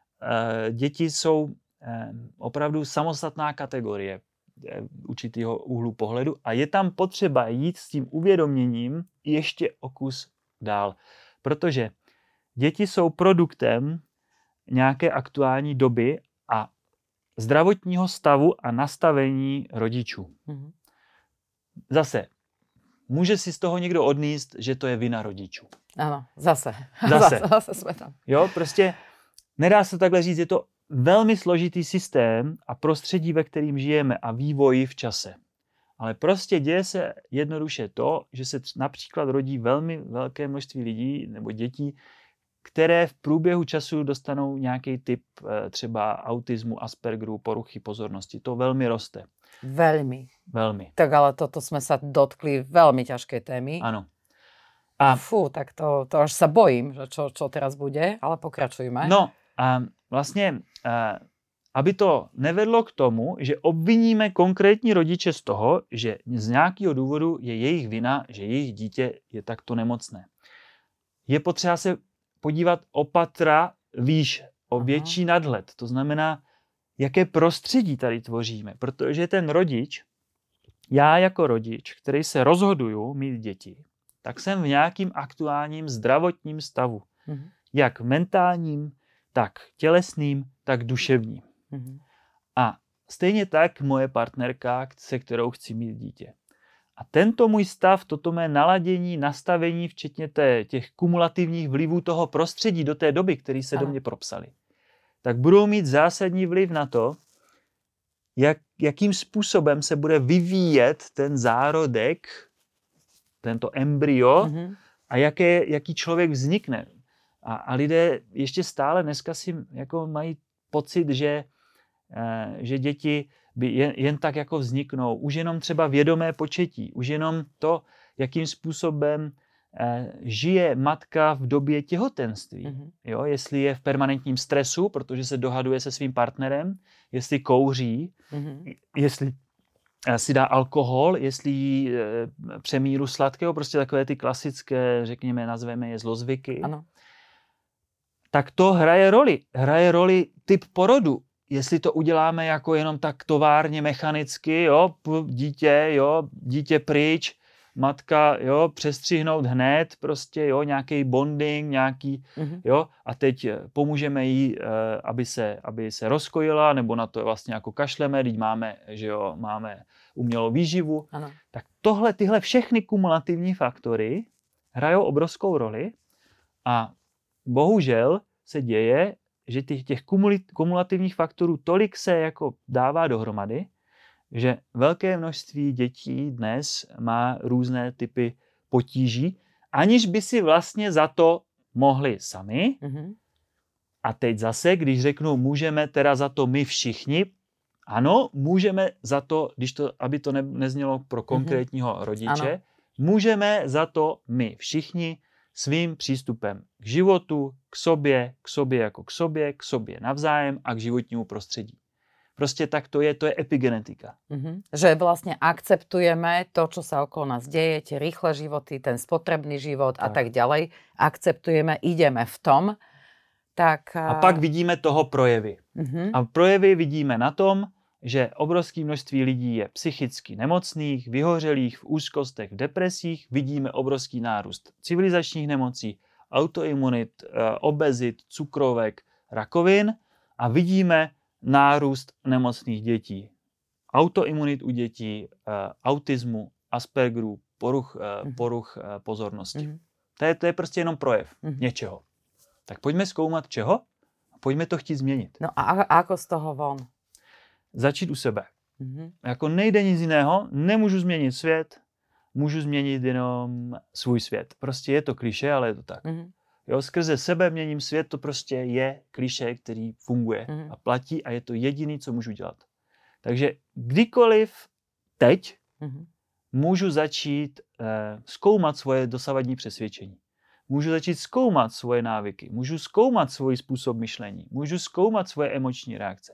Speaker 2: e, děti jsou e, opravdu samostatná kategorie e, určitýho úhlu pohledu a je tam potřeba jít s tím uvědoměním ještě o kus dál. Protože děti jsou produktem nějaké aktuální doby a zdravotního stavu a nastavení rodičů. Mm-hmm. Zase, může si z toho někdo odníst, že to je vina rodičů.
Speaker 1: Ano, zase.
Speaker 2: Zase.
Speaker 1: zase, zase jsme tam.
Speaker 2: Jo, prostě nedá se takhle říct, je to velmi složitý systém a prostředí, ve kterým žijeme a vývoj v čase. Ale prostě děje se jednoduše to, že se například rodí velmi velké množství lidí nebo dětí, které v průběhu času dostanou nějaký typ třeba autismu, Aspergeru, poruchy pozornosti. To velmi roste.
Speaker 1: Veľmi.
Speaker 2: Veľmi.
Speaker 1: Tak ale toto sme sa dotkli veľmi ťažkej témy.
Speaker 2: Áno.
Speaker 1: A fú, tak to, to až sa bojím, že čo, čo teraz bude, ale pokračujme.
Speaker 2: No a vlastně, aby to nevedlo k tomu, že obviníme konkrétní rodiče z toho, že z nějakého důvodu je jejich vina, že jejich dítě je takto nemocné. Je potřeba se podívat o patra výš, o větší Aha. nadhled. To znamená, jaké prostředí tady tvoříme. Protože ten rodič, já jako rodič, který se rozhoduju mít děti, tak jsem v nějakým aktuálním zdravotním stavu. Mhm. Jak mentálním, tak tělesným, tak duševním. Mhm. A stejně tak moje partnerka, se kterou chci mít dítě. A tento můj stav, toto mé naladění, nastavení, včetně té, těch kumulativních vlivů toho prostředí do té doby, které se Aha. do mě propsaly, tak budou mít zásadní vliv na to, jak, jakým způsobem se bude vyvíjet ten zárodek, tento embryo mm-hmm. a jaké, jaký člověk vznikne. A, a lidé ještě stále dneska si jako mají pocit, že, eh, že děti by jen, jen tak jako vzniknou. Už jenom třeba vědomé početí, už jenom to, jakým způsobem eh, žije matka v době těhotenství. Mm-hmm. Jo, jestli je v permanentním stresu, protože se dohaduje se svým partnerem, jestli kouří, mm-hmm. jestli si dá alkohol, jestli jí e, přemíru sladkého, prostě takové ty klasické, řekněme, nazveme je zlozvyky. Ano. Tak to hraje roli. Hraje roli typ porodu. Jestli to uděláme jako jenom tak továrně, mechanicky, jo, dítě, jo, dítě pryč, matka, jo, přestřihnout hned, prostě, jo, nějaký bonding, nějaký, mm-hmm. jo, a teď pomůžeme jí, aby se, aby se rozkojila, nebo na to vlastně jako kašleme, teď máme, že jo, máme umělou výživu. Ano. Tak tohle, tyhle všechny kumulativní faktory hrajou obrovskou roli a bohužel se děje, že těch, těch kumulativních faktorů tolik se jako dává dohromady, že velké množství dětí dnes má různé typy potíží, aniž by si vlastně za to mohli sami. Mm-hmm. A teď zase, když řeknu, můžeme teda za to my všichni, ano, můžeme za to, když to, aby to ne, neznělo pro konkrétního mm-hmm. rodiče, ano. Můžeme za to my všichni svým přístupem k životu, k sobě, k sobě jako k sobě, k sobě navzájem a k životnímu prostředí. Prostě tak to je, to je epigenetika. Mm-hmm.
Speaker 1: Že vlastne akceptujeme to, čo sa okolo nás deje, tie rýchle životy, ten spotrebný život tak. a tak ďalej. Akceptujeme, ideme v tom. Tak,
Speaker 2: a pak vidíme toho projevy. Mm-hmm. A projevy vidíme na tom, že obrovské množství lidí je psychicky nemocných, vyhořelých, v úzkostech, v depresích. Vidíme obrovský nárůst civilizačních nemocí, autoimunit, obezit, cukrovek, rakovin a vidíme nárůst nemocných dětí. Autoimunit u dětí, autismu, Aspergeru, poruch, mm-hmm. poruch pozornosti. Mm-hmm. To je, to je prostě jenom projev mm-hmm. něčeho. Tak pojďme zkoumat čeho a pojďme to chtít změnit.
Speaker 1: No a ako z toho von?
Speaker 2: Začít u sebe. Mm-hmm. Jako nejde nic jiného, nemůžu změnit svět, můžu změnit jenom svůj svět. Prostě je to klišé, ale je to tak. Mm-hmm. Jo, skrze sebe měním svět, to prostě je klišé, který funguje mm-hmm. a platí a je to jediný, co můžu dělat. Takže kdykoliv teď mm-hmm. můžu začít eh, zkoumat svoje dosavadní přesvědčení. Můžu začít zkoumat svoje návyky, můžu zkoumat svůj způsob myšlení, můžu zkoumat svoje emoční reakce.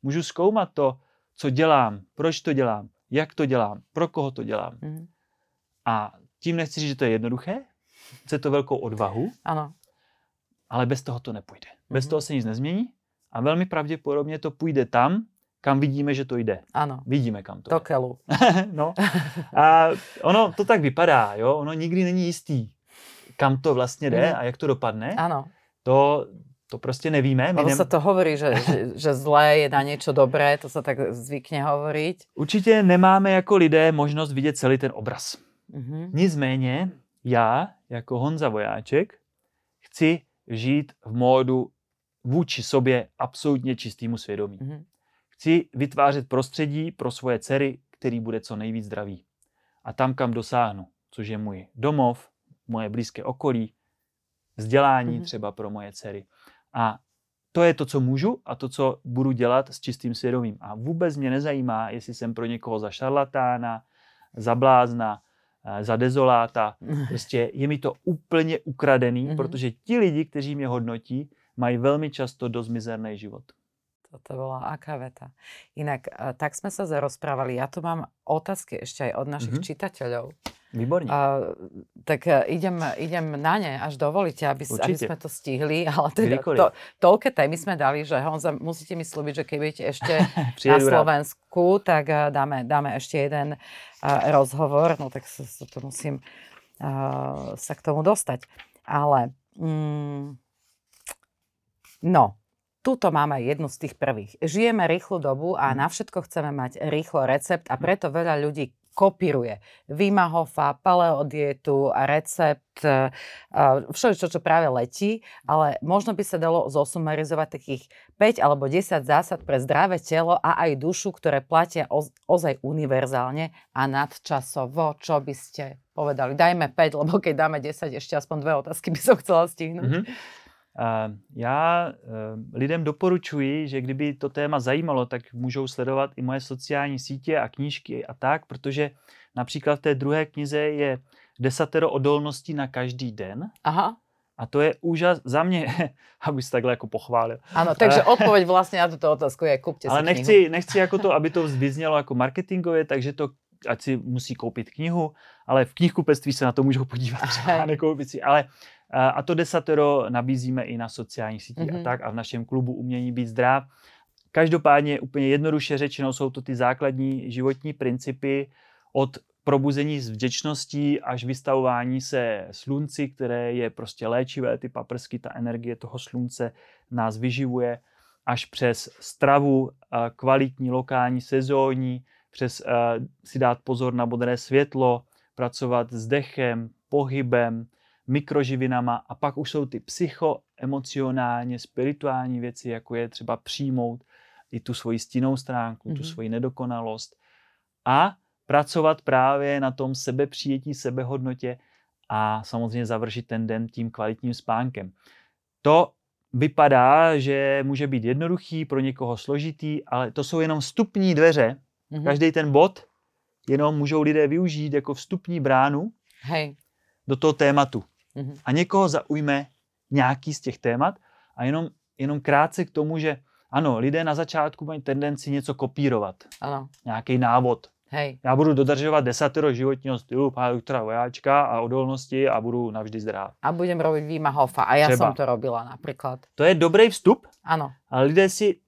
Speaker 2: Můžu zkoumat to, co dělám, proč to dělám, jak to dělám, pro koho to dělám. Mm. A tím nechci říct, že to je jednoduché, chce to velkou odvahu,
Speaker 1: ano. Ale
Speaker 2: bez toho to nepůjde. Bez mm. toho se nic nezmění a velmi pravděpodobně to půjde tam, kam vidíme, že to jde.
Speaker 1: Ano.
Speaker 2: Vidíme, kam to
Speaker 1: jde. Do kelu.
Speaker 2: No. A ono to tak vypadá, jo? Ono nikdy není jistý, kam to vlastně jde mm. a jak to dopadne.
Speaker 1: Ano.
Speaker 2: To, to prostě nevíme.
Speaker 1: Ono nem... sa to hovorí, že, že, že zlé je na niečo dobré, to sa tak zvykne hovoriť.
Speaker 2: Určitě nemáme jako lidé možnost vidět celý ten obraz.
Speaker 1: Mm-hmm.
Speaker 2: Nicméně já, jako Honza Vojáček, chci žít v módu vůči sobě absolutně čistýmu svědomí. Mm-hmm. Chci vytvářet prostředí pro svoje dcery, který bude co nejvíc zdravý. A tam, kam dosáhnu, což je můj domov, moje blízké okolí, vzdělání mm-hmm. třeba pro moje dcery. A to je to, co můžu a to, co budu dělat s čistým svědomím. A vůbec mě nezajímá, jestli jsem pro někoho za šarlatána, za blázna, za dezoláta. Prostě je mi to úplně ukradený, mm-hmm. protože ti lidi, kteří mě hodnotí, mají velmi často dost mizerný život.
Speaker 1: Toto bola aká veta. Inak, tak sme sa zarozprávali. Ja tu mám otázky ešte aj od našich mm-hmm. čitateľov.
Speaker 2: Výborne.
Speaker 1: Uh, tak idem, idem na ne, až dovolíte, aby, aby sme to stihli. Ale teda to, toľké témy sme dali, že Honza, musíte mi slúbiť, že keď budete ešte na Slovensku, tak dáme, dáme ešte jeden uh, rozhovor. No tak sa, sa to musím uh, sa k tomu dostať. Ale mm, no, tuto máme jednu z tých prvých. Žijeme rýchlu dobu a na všetko chceme mať rýchlo recept a preto veľa ľudí kopíruje Wima Hofa, paleodietu a recept, všetko, čo práve letí, ale možno by sa dalo zosumarizovať takých päť alebo desať zásad pre zdravé telo a aj dušu, ktoré platia ozaj univerzálne a nadčasovo. Čo by ste povedali? Dajme päť, lebo keď dáme desať, ešte aspoň dve otázky by som chcela stihnúť. Mm-hmm.
Speaker 2: Uh, já uh, lidem doporučuji, že kdyby to téma zajímalo, tak můžou sledovat i moje sociální sítě a knížky a tak, protože například v té druhé knize je desatero odolností na každý den.
Speaker 1: Aha.
Speaker 2: A to je úžas za mě, aby se takhle jako pochválil.
Speaker 1: Ano, takže odpověď vlastně na tuto otázku je kupte si
Speaker 2: Ale
Speaker 1: knihu.
Speaker 2: nechci, nechci jako to, aby to vyznělo jako marketingově, takže to ať si musí koupit knihu, ale v knihkupectví se na to můžou podívat třeba, nekoupit si, ale a to desatero nabízíme i na sociálních sítích mm-hmm. a tak a v našem klubu Umění být zdrav. Každopádně úplně jednoduše řečeno jsou to ty základní životní principy od probuzení z vděčností až vystavování se slunci, které je prostě léčivé, ty paprsky, ta energie toho slunce nás vyživuje, až přes stravu, kvalitní, lokální, sezónní, přes si dát pozor na modré světlo, pracovat s dechem, pohybem, mikroživinama a pak už jsou ty psychoemocionálně, spirituální věci, jako je třeba přijmout i tu svoji stinnou stránku, mm-hmm. tu svoji nedokonalost a pracovat právě na tom sebepřijetí, sebehodnotě a samozřejmě završit ten den tím kvalitním spánkem. To vypadá, že může být jednoduchý, pro někoho složitý, ale to jsou jenom vstupní dveře. Mm-hmm. Každý ten bod jenom můžou lidé využít jako vstupní bránu
Speaker 1: Hej.
Speaker 2: do toho tématu.
Speaker 1: Mm-hmm.
Speaker 2: A někoho zaujme nějaký z těch témat a jenom, jenom krátce k tomu, že ano, lidé na začátku mají tendenci něco kopírovat.
Speaker 1: Ano.
Speaker 2: Nějaký návod.
Speaker 1: Hej.
Speaker 2: Já budu dodržovat desatero životního stylu pána doktora Vojáčka a odolnosti a budu navždy zdráv.
Speaker 1: A budem robiť Wima Hofa. A ja Třeba. som to robila napríklad.
Speaker 2: To je dobrý vstup.
Speaker 1: Ano.
Speaker 2: Ale lidé si,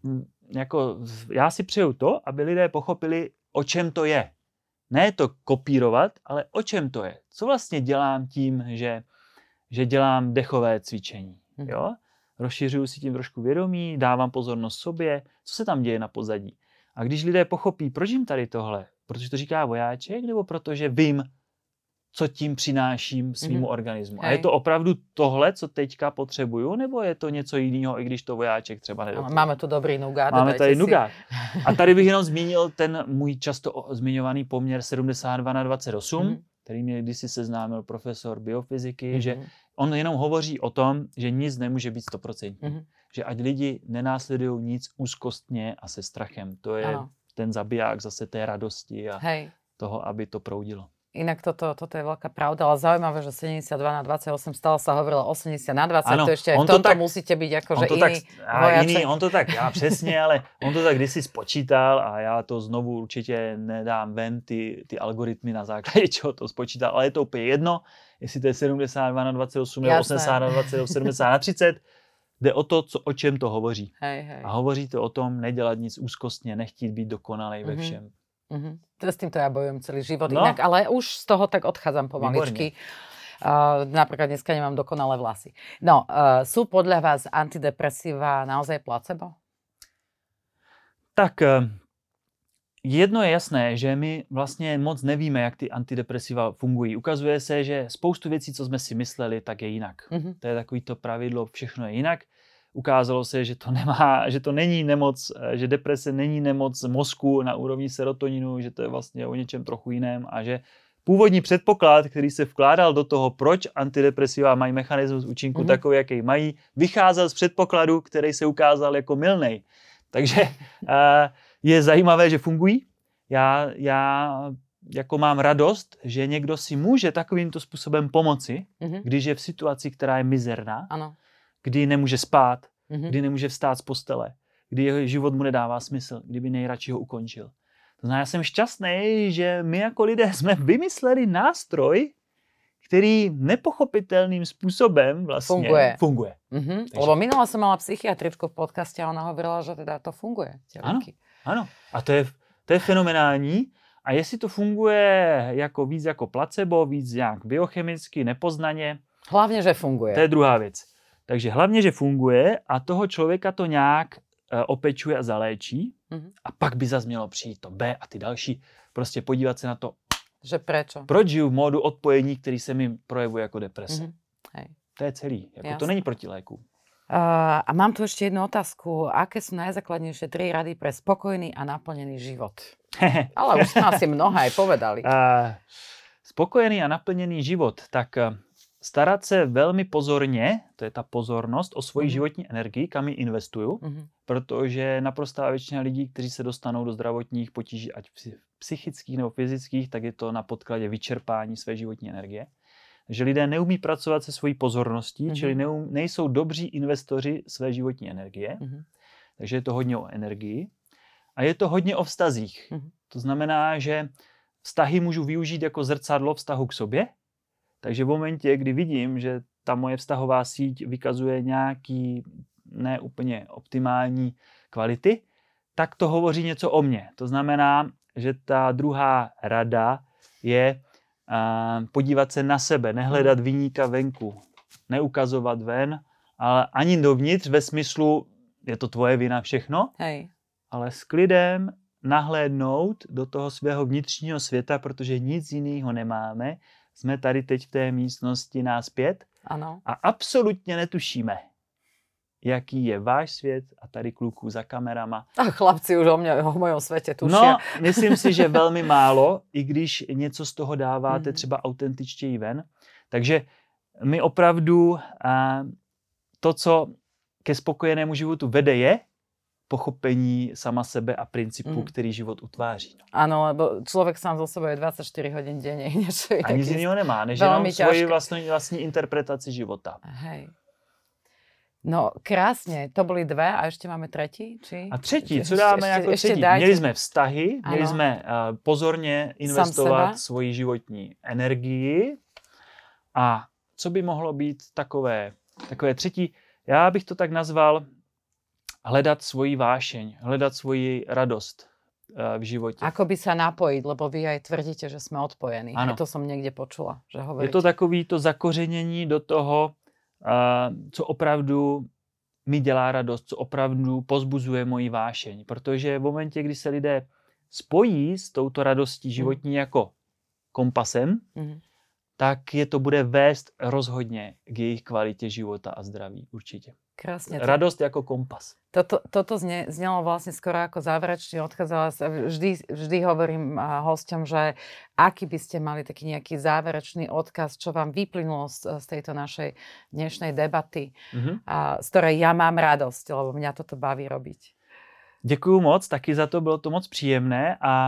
Speaker 2: jako, já si přeju to, aby lidé pochopili, o čem to je. Ne to kopírovat, ale o čem to je. Co vlastně dělám tím, že, že dělám dechové cvičení. Hmm. Jo? Rozšiřuju si tím trošku vědomí, dávám pozornost sobě, co se tam děje na pozadí. A když lidé pochopí, proč jim tady tohle, protože to říká Vojáček, nebo protože vím, co tím přináším svýmu mm-hmm. organismu. Hej. A je to opravdu tohle, co teďka potřebuju, nebo je to něco jiného, i když to Vojáček třeba nedoporučuje?
Speaker 1: Máme tu dobrý nugát.
Speaker 2: Máme tady nugát. A tady bych jenom zmínil ten můj často zmiňovaný poměr sedmdesát dva na dvacet osm, mm-hmm. který mě kdysi seznámil profesor biofyziky, mm-hmm. že on jenom hovoří o tom, že nic nemůže být sto procent. Mm-hmm. Že ať lidi nenásledují nic úzkostně a se strachem. To je ano. ten zabiják zase té radosti a Hej. toho, aby to proudilo.
Speaker 1: Inak toto, toto je veľká pravda, ale zaujímavé, že sedemdesiatdva na dvadsaťosem, stále sa hovorilo osemdesiat na dvadsať, ano, to ešte aj v tomto tak, musíte byť akože iný
Speaker 2: vojaček. On to tak, já přesně, ale on to tak kdysi spočítal a já to znovu určitě nedám ven, ty, ty algoritmy na základě čeho to spočítal, ale je to úplně jedno, jestli to je sedmdesát dva na dvacet osm, nebo osmdesát na dvacet, sedmdesát na třicet, jde o to, co, o čem to hovoří.
Speaker 1: Hej, hej.
Speaker 2: A hovoří to o tom nedělat nic úzkostně, nechtít být dokonalej mm-hmm. ve všem.
Speaker 1: Mm-hmm. S týmto ja bojujem celý život no. inak, ale už z toho tak odchádzam pomaličky. Uh, napríklad dneska nemám dokonalé vlasy. No, uh, sú podľa vás antidepresíva naozaj placebo?
Speaker 2: Tak jedno je jasné, že my vlastně moc nevíme, jak ty antidepresiva fungují. Ukazuje se, že spoustu věcí, co jsme si mysleli, tak je jinak. Mm-hmm. To je takový to pravidlo, všechno je jinak. Ukázalo se, že to nemá, že to není nemoc, že deprese není nemoc mozku na úrovni serotoninu, že to je vlastně o něčem trochu jiném a že původní předpoklad, který se vkládal do toho, proč antidepresiva mají mechanismus účinku mm-hmm. takový, jaký mají, vycházel z předpokladu, který se ukázal jako mylnej. Takže uh, je zajímavé, že fungují. Já, já jako mám radost, že někdo si může takovýmto způsobem pomoci, mm-hmm. když je v situaci, která je mizerná.
Speaker 1: Ano.
Speaker 2: Kdy nemůže spát, mm-hmm. kdy nemůže vstát z postele, kdy jeho život mu nedává smysl, kdyby nejradši ho ukončil. To znamená, já jsem šťastný, že my jako lidé jsme vymysleli nástroj, který nepochopitelným způsobem vlastně
Speaker 1: funguje.
Speaker 2: funguje.
Speaker 1: Mm-hmm. Takže... Lebo minule som mala psychiatričku v podcaste a ona hovorila, že teda to funguje.
Speaker 2: Ano, ano. A to je, to je fenomenální. A jestli to funguje jako víc jako placebo, víc nějak biochemicky, nepoznaně.
Speaker 1: Hlavně, že funguje.
Speaker 2: To je druhá věc. Takže hlavně, že funguje a toho člověka to nějak uh, opečuje a zaléčí mm-hmm. a pak by zase mělo přijít to B a ty další. Prostě podívat se na to,
Speaker 1: že prečo?
Speaker 2: Proč žiju v módu odpojení, který se mi projevuje jako deprese. Mm-hmm.
Speaker 1: Hej.
Speaker 2: To je celý. Jako to není proti léku.
Speaker 1: Uh, a mám tu ešte jednu otázku. Aké sú najzákladnejšie tri rady pre spokojný a naplnený život? Ale už sme asi mnohé aj povedali.
Speaker 2: Uh, spokojený a naplněný život. Tak uh, starat se velmi pozorně, to je ta pozornost, o svoji mm-hmm. životní energii, kam ji investuju, mm-hmm. protože naprostá většina lidí, kteří se dostanou do zdravotních potíží, ať psychických nebo fyzických, tak je to na podkladě vyčerpání své životní energie. Takže lidé neumí pracovat se svojí pozorností, mm-hmm. čili neum, nejsou dobří investoři své životní energie. Mm-hmm. Takže je to hodně o energii. A je to hodně o vztazích. Mm-hmm. To znamená, že vztahy můžu využít jako zrcadlo vztahu k sobě. Takže v momentě, kdy vidím, že ta moje vztahová síť vykazuje nějaký neúplně optimální kvality, tak to hovoří něco o mně. To znamená, že ta druhá rada je uh, podívat se na sebe, nehledat viníka venku, neukazovat ven, ale ani dovnitř ve smyslu, je to tvoje vina všechno,
Speaker 1: Hej.
Speaker 2: ale s klidem nahlédnout do toho svého vnitřního světa, protože nic jiného nemáme. Jsme tady teď v té místnosti nás pět
Speaker 1: ano.
Speaker 2: a absolutně netušíme, jaký je váš svět a tady kluků za kamerama.
Speaker 1: A chlapci už o, mě, o mojom světě tuší.
Speaker 2: No, myslím si, že velmi málo, i když něco z toho dáváte mm. třeba autentičtěji ven. Takže my opravdu a, to, co ke spokojenému životu vede, je pochopení sama sebe a principu, mm. který život utváří.
Speaker 1: Áno, lebo človek sám zo sebe je dvadsaťštyri hodín denne.
Speaker 2: A nic jiného nemá, než jenom svoji vlastní, vlastní interpretaci života.
Speaker 1: Hej. No krásne, to boli dve a ešte máme tretí? Či?
Speaker 2: A třetí, co dáme ešte, jako třetí? Měli jsme vztahy, ano. Měli jsme uh, pozorně investovat svoji životní energii a co by mohlo být takové, takové třetí, já bych to tak nazval hledat svoji vášeň, hledat svoji radost uh, v životě.
Speaker 1: Ako by sa napojiť, lebo vy aj tvrdíte, že sme odpojení. Ano. To som niekde počula, že hovoríte.
Speaker 2: Je to takový to zakořenění do toho, uh, co opravdu mi dělá radost, co opravdu pozbuzuje moji vášeň. Protože v momentě, kdy se lidé spojí s touto radostí životní mm. jako kompasem, mm. tak je to bude vést rozhodně k jejich kvalitě života a zdraví určitě.
Speaker 1: Krásne.
Speaker 2: Radosť ako kompas.
Speaker 1: Toto, toto zne, znelo vlastne skoro ako záverečne odchádzala. Vždy, vždy hovorím hosťom, že aký by ste mali taký nejaký záverečný odkaz, čo vám vyplynulo z, z tejto našej dnešnej debaty, mm-hmm. a, z ktorej ja mám radosť, lebo mňa toto baví robiť.
Speaker 2: Děkuju moc, taky za to, bylo to moc příjemné a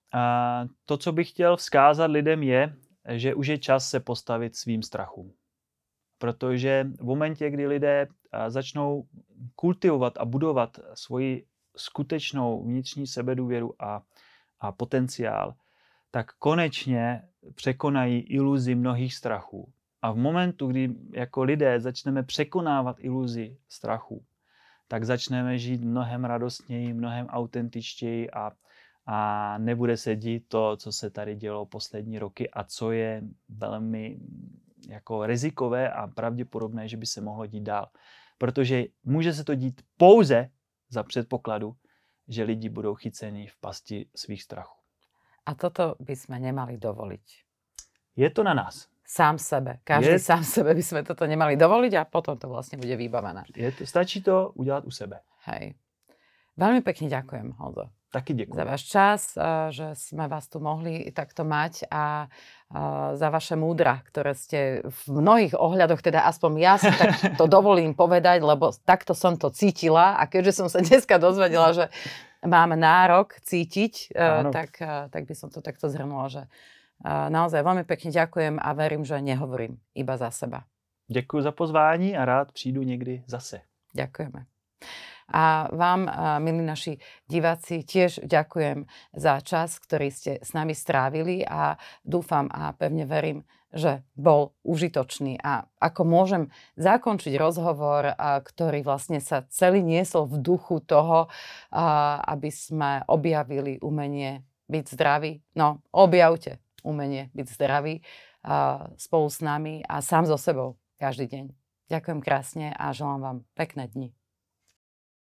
Speaker 2: A to, co bych chtěl vzkázat lidem, je, že už je čas se postavit svým strachům. Protože v momentě, kdy lidé začnou kultivovat a budovat svoji skutečnou vnitřní sebedůvěru a, a potenciál, tak konečně překonají iluzi mnohých strachů. A v momentu, kdy jako lidé začneme překonávat iluzi strachu, tak začneme žít mnohem radostněji, mnohem autentičtěji a, a nebude se dít to, co se tady dělo poslední roky a co je velmi jako rizikové a pravděpodobné, že by se mohlo dít dál. Protože může se to dít pouze za předpokladu, že lidi budou chyceni v pasti svých strachů.
Speaker 1: A toto by sme nemali dovoliť.
Speaker 2: Je to na nás.
Speaker 1: Sám sebe. Každý
Speaker 2: je...
Speaker 1: sám sebe by sme toto nemali dovoliť a potom to vlastne bude vybavené.
Speaker 2: Je to, stačí to udělat u sebe.
Speaker 1: Hej. Veľmi pekne ďakujem, Honzo.
Speaker 2: Taky děkuji.
Speaker 1: Za váš čas, že sme vás tu mohli takto mať a za vaše múdra, ktoré ste v mnohých ohľadoch, teda aspoň ja si tak to dovolím povedať, lebo takto som to cítila a keďže som sa dneska dozvedela, že mám nárok cítiť, tak, tak by som to takto zhrnula, že naozaj veľmi pekne ďakujem a verím, že nehovorím iba za seba.
Speaker 2: Děkuji za pozvání a rád přijdu někdy zase.
Speaker 1: Ďakujeme. A vám, milí naši diváci, tiež ďakujem za čas, ktorý ste s nami strávili a dúfam a pevne verím, že bol užitočný. A ako môžem zakončiť rozhovor, ktorý vlastne sa celý niesol v duchu toho, aby sme objavili umenie byť zdraví. No, objavte umenie byť zdraví spolu s nami a sám so sebou každý deň. Ďakujem krásne a želám vám pekné dni.